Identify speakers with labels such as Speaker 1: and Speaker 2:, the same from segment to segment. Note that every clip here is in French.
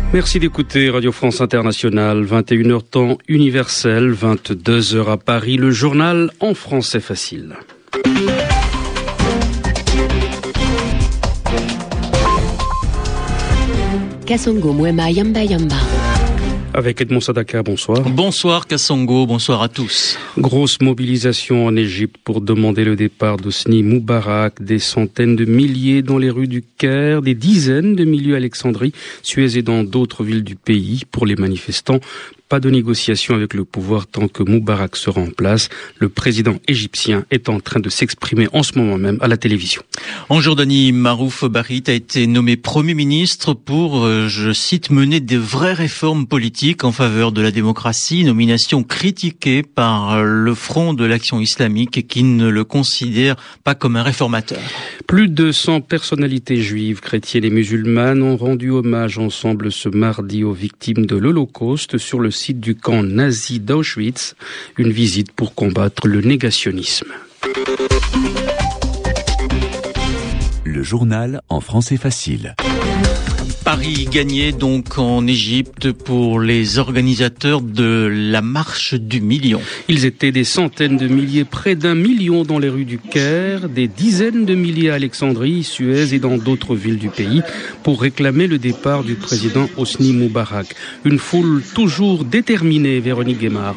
Speaker 1: Merci d'écouter Radio France Internationale, 21h temps universel, 22h à Paris, le journal en français facile.
Speaker 2: Kasongo Mwema Yamba Yamba.
Speaker 1: Avec Edmond Sadaka, bonsoir.
Speaker 3: Bonsoir Kasongo, bonsoir à tous.
Speaker 1: Grosse mobilisation en Égypte pour demander le départ d'Hosni Moubarak. Des centaines de milliers dans les rues du Caire, des dizaines de milliers à Alexandrie, Suez et dans d'autres villes du pays. Pour les manifestants, pas de négociation avec le pouvoir tant que Moubarak sera en place. Le président égyptien est en train de s'exprimer en ce moment même à la télévision.
Speaker 3: En Jordanie, Marouf Barit a été nommé Premier ministre pour, je cite, mener des vraies réformes politiques en faveur de la démocratie. Nomination critiquée par le Front de l'Action islamique qui ne le considère pas comme un réformateur.
Speaker 1: Plus de 100 personnalités juives, chrétiennes et musulmanes ont rendu hommage ensemble ce mardi aux victimes de l'Holocauste sur le site du camp nazi d'Auschwitz, une visite pour combattre le négationnisme.
Speaker 4: Le journal en français facile.
Speaker 3: Paris gagné donc en Égypte pour les organisateurs de la marche du million.
Speaker 1: Ils étaient des centaines de milliers, près d'1 million dans les rues du Caire, des dizaines de milliers à Alexandrie, Suez et dans d'autres villes du pays pour réclamer le départ du président Hosni Moubarak. Une foule toujours déterminée, Véronique Guémard.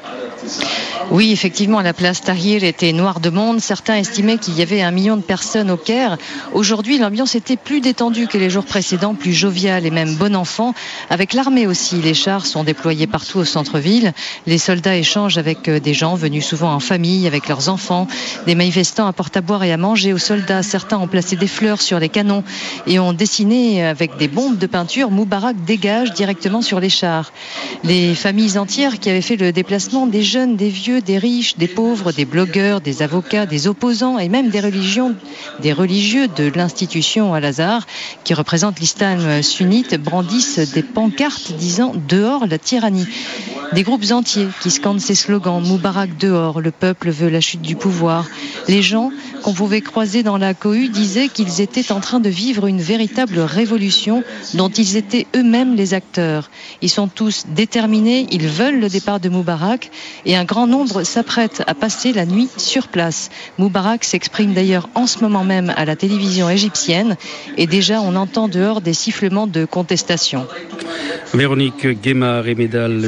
Speaker 5: Oui, effectivement, la place Tahrir était noire de monde. Certains estimaient qu'il y avait 1 million de personnes au Caire. Aujourd'hui, l'ambiance était plus détendue que les jours précédents, plus joviale et même bon enfant. Avec l'armée aussi, les chars sont déployés partout au centre-ville. Les soldats échangent avec des gens venus souvent en famille, avec leurs enfants. Des manifestants apportent à boire et à manger aux soldats. Certains ont placé des fleurs sur les canons et ont dessiné avec des bombes de peinture Moubarak dégage directement sur les chars. Les familles entières qui avaient fait le déplacement, des jeunes, des vieux, des riches, des pauvres, des blogueurs, des avocats, des opposants et même des religieux de l'institution Al-Azhar qui représente l'islam sunnite brandissent des pancartes disant « Dehors la tyrannie ». Des groupes entiers qui scandent ces slogans « Moubarak dehors, le peuple veut la chute du pouvoir ». Les gens qu'on pouvait croiser dans la cohue disaient qu'ils étaient en train de vivre une véritable révolution dont ils étaient eux-mêmes les acteurs. Ils sont tous déterminés, ils veulent le départ de Moubarak et un grand nombre s'apprête à passer la nuit sur place. Moubarak s'exprime d'ailleurs en ce moment même à la télévision égyptienne et déjà on entend dehors des sifflements de contestation.
Speaker 1: Véronique Guémard et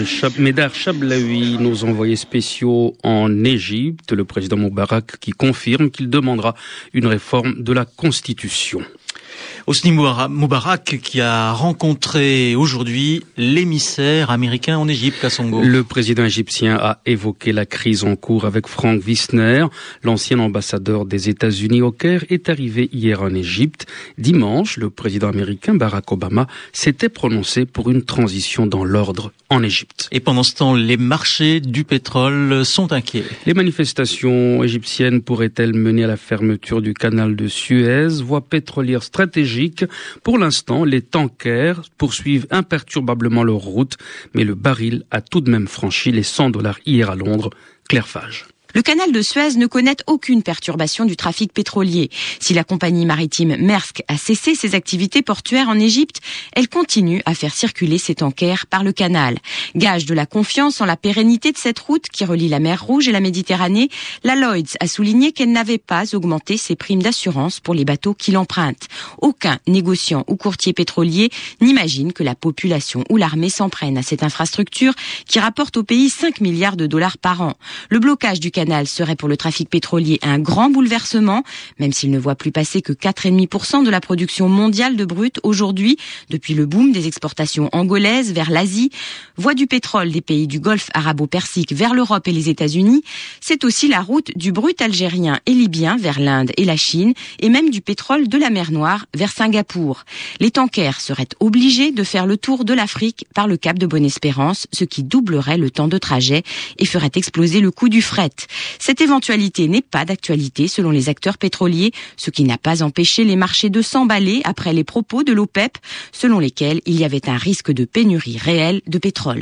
Speaker 1: Médar Chablaoui, nos envoyés spéciaux en Égypte, le président Moubarak qui confirme qu'il demandera une réforme de la Constitution.
Speaker 3: Hosni Moubarak qui a rencontré aujourd'hui l'émissaire américain en Égypte, Kasongo.
Speaker 1: Le président égyptien a évoqué la crise en cours avec Frank Wisner. L'ancien ambassadeur des États-Unis au Caire est arrivé hier en Égypte. Dimanche, le président américain Barack Obama s'était prononcé pour une transition dans l'ordre en Égypte.
Speaker 3: Et pendant ce temps, les marchés du pétrole sont inquiets.
Speaker 1: Les manifestations égyptiennes pourraient-elles mener à la fermeture du canal de Suez, voie pétrolière stratégique? Pour l'instant, les tankers poursuivent imperturbablement leur route, mais le baril a tout de même franchi les $100 hier à Londres. Claire Fage.
Speaker 2: Le canal de Suez ne connaît aucune perturbation du trafic pétrolier. Si la compagnie maritime Maersk a cessé ses activités portuaires en Égypte, elle continue à faire circuler ses tankers par le canal. Gage de la confiance en la pérennité de cette route qui relie la mer Rouge et la Méditerranée, la Lloyd's a souligné qu'elle n'avait pas augmenté ses primes d'assurance pour les bateaux qui l'empruntent. Aucun négociant ou courtier pétrolier n'imagine que la population ou l'armée s'en prennent à cette infrastructure qui rapporte au pays 5 milliards de dollars par an. Le blocage du canal serait pour le trafic pétrolier un grand bouleversement, même s'il ne voit plus passer que 4,5% de la production mondiale de brut aujourd'hui, depuis le boom des exportations angolaises vers l'Asie. Voie du pétrole des pays du Golfe arabo-persique vers l'Europe et les États-Unis, c'est aussi la route du brut algérien et libyen vers l'Inde et la Chine, et même du pétrole de la mer Noire vers Singapour. Les tankers seraient obligés de faire le tour de l'Afrique par le cap de Bonne-Espérance, ce qui doublerait le temps de trajet et ferait exploser le coût du fret. Cette éventualité n'est pas d'actualité selon les acteurs pétroliers, ce qui n'a pas empêché les marchés de s'emballer après les propos de l'OPEP, selon lesquels il y avait un risque de pénurie réelle de pétrole.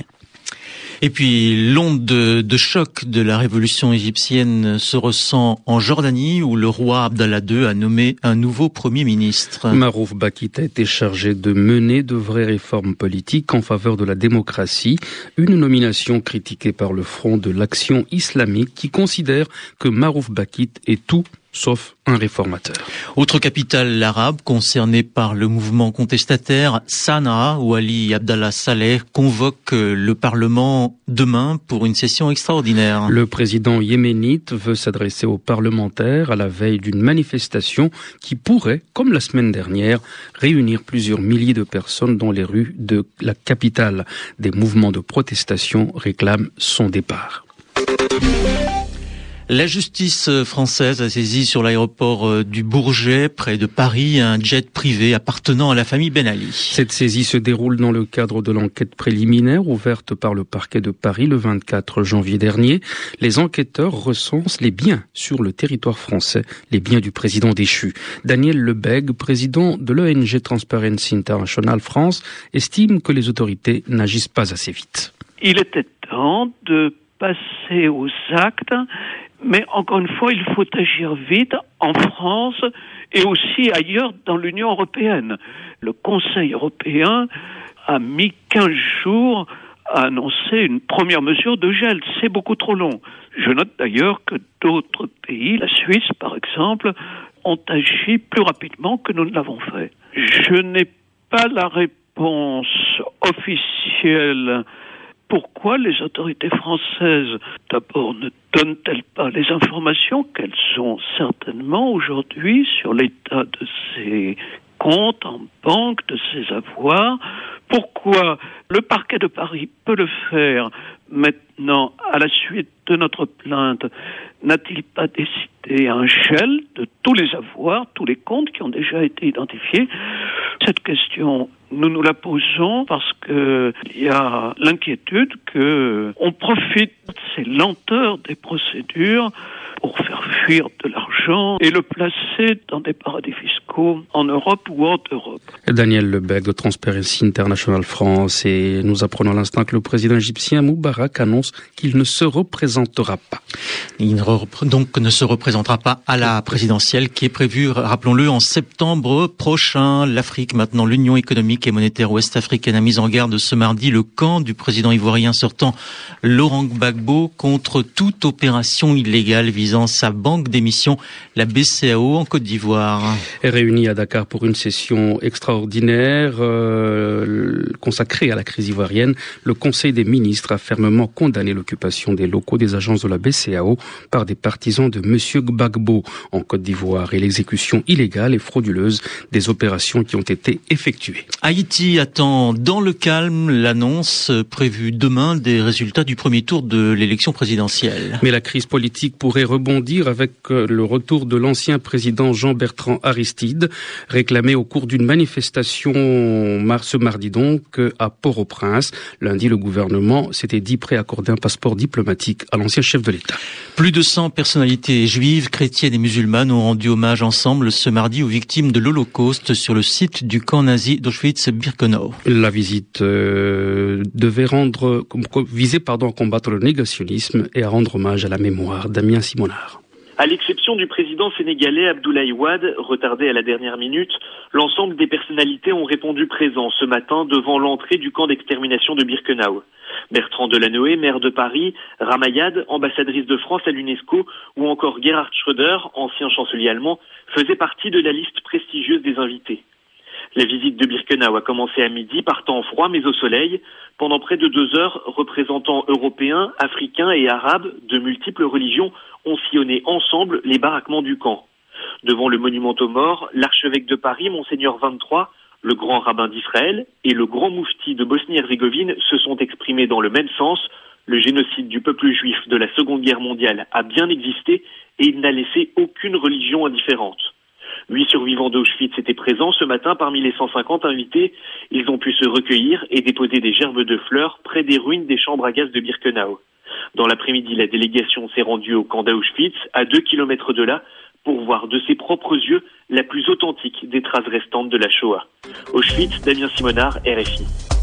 Speaker 3: Et puis l'onde de choc de la révolution égyptienne se ressent en Jordanie où le roi Abdallah II a nommé un nouveau Premier ministre.
Speaker 1: Marouf Bakit a été chargé de mener de vraies réformes politiques en faveur de la démocratie, une nomination critiquée par le Front de l'Action islamique qui considère que Marouf Bakit est tout sauf un réformateur.
Speaker 3: Autre capitale arabe concernée par le mouvement contestataire, Sanaa, où Ali Abdallah Saleh convoque le Parlement demain pour une session extraordinaire.
Speaker 1: Le président yéménite veut s'adresser aux parlementaires à la veille d'une manifestation qui pourrait, comme la semaine dernière, réunir plusieurs milliers de personnes dans les rues de la capitale. Des mouvements de protestation réclament son départ.
Speaker 3: La justice française a saisi sur l'aéroport du Bourget, près de Paris, un jet privé appartenant à la famille Ben Ali.
Speaker 1: Cette saisie se déroule dans le cadre de l'enquête préliminaire ouverte par le parquet de Paris le 24 janvier dernier. Les enquêteurs recensent les biens sur le territoire français, les biens du président déchu. Daniel Lebègue, président de l'ONG Transparency International France, estime que les autorités n'agissent pas assez vite.
Speaker 6: Il était temps de passer aux actes. Mais encore une fois, il faut agir vite en France et aussi ailleurs dans l'Union européenne. Le Conseil européen a mis 15 jours à annoncer une première mesure de gel. C'est beaucoup trop long. Je note d'ailleurs que d'autres pays, la Suisse par exemple, ont agi plus rapidement que nous ne l'avons fait. Je n'ai pas la réponse officielle. Pourquoi les autorités françaises, d'abord, ne donnent-elles pas les informations qu'elles ont certainement aujourd'hui sur l'état de ces comptes en banque, de ces avoirs? Pourquoi le parquet de Paris peut le faire maintenant, à la suite de notre plainte? N'a-t-il pas décidé un gel de tous les avoirs, tous les comptes qui ont déjà été identifiés? Cette question, nous nous la posons parce que il y a l'inquiétude que on profite de ces lenteurs des procédures pour faire fuir de l'argent et le placer dans des paradis fiscaux en Europe ou hors d'Europe.
Speaker 1: Daniel Lebègue de Transparency International France, et nous apprenons à l'instant que le président égyptien Moubarak annonce qu'il ne se représentera pas.
Speaker 3: Il ne se représentera pas à la présidentielle qui est prévue, rappelons-le, en septembre prochain. L'Afrique, maintenant l'Union économique et monétaire ouest-africaine, a mis en garde ce mardi le camp du président ivoirien sortant Laurent Gbagbo contre toute opération illégale visant sa banque d'émission, la BCAO, en Côte d'Ivoire.
Speaker 1: Réunis à Dakar pour une session extraordinaire consacrée à la crise ivoirienne, le Conseil des ministres a fermement condamné l'occupation des locaux des agences de la BCAO par des partisans de M. Gbagbo en Côte d'Ivoire et l'exécution illégale et frauduleuse des opérations qui ont été effectuées.
Speaker 3: Haïti attend dans le calme l'annonce prévue demain des résultats du premier tour de l'élection présidentielle.
Speaker 1: Mais la crise politique pourrait rebondir avec le retour de l'ancien président Jean-Bertrand Aristide, réclamé au cours d'une manifestation ce mardi donc à Port-au-Prince. Lundi, le gouvernement s'était dit prêt à accorder un passeport diplomatique à l'ancien chef de l'État.
Speaker 3: Plus de 100 personnalités juives, chrétiennes et musulmanes ont rendu hommage ensemble ce mardi aux victimes de l'Holocauste sur le site du camp nazi d'Auschwitz-Birkenau.
Speaker 1: La visite devait viser à combattre le négationnisme et à rendre hommage à la mémoire. Damien Simonard.
Speaker 7: À l'exception du président sénégalais Abdoulaye Wade, retardé à la dernière minute, l'ensemble des personnalités ont répondu présent ce matin devant l'entrée du camp d'extermination de Birkenau. Bertrand Delanoë, maire de Paris, Ramayad, ambassadrice de France à l'UNESCO, ou encore Gerhard Schröder, ancien chancelier allemand, faisaient partie de la liste prestigieuse des invités. La visite de Birkenau a commencé à midi par temps froid mais au soleil. Pendant près de 2 heures, représentants européens, africains et arabes de multiples religions ont sillonné ensemble les baraquements du camp. Devant le monument aux morts, l'archevêque de Paris, Monseigneur 23, le grand rabbin d'Israël et le grand moufti de Bosnie-Herzégovine se sont exprimés dans le même sens. Le génocide du peuple juif de la Seconde Guerre mondiale a bien existé et il n'a laissé aucune religion indifférente. 8 survivants d'Auschwitz étaient présents ce matin parmi les 150 invités. Ils ont pu se recueillir et déposer des gerbes de fleurs près des ruines des chambres à gaz de Birkenau. Dans l'après-midi, la délégation s'est rendue au camp d'Auschwitz, à 2 kilomètres de là, pour voir de ses propres yeux la plus authentique des traces restantes de la Shoah. Auschwitz, Damien Simonard, RFI.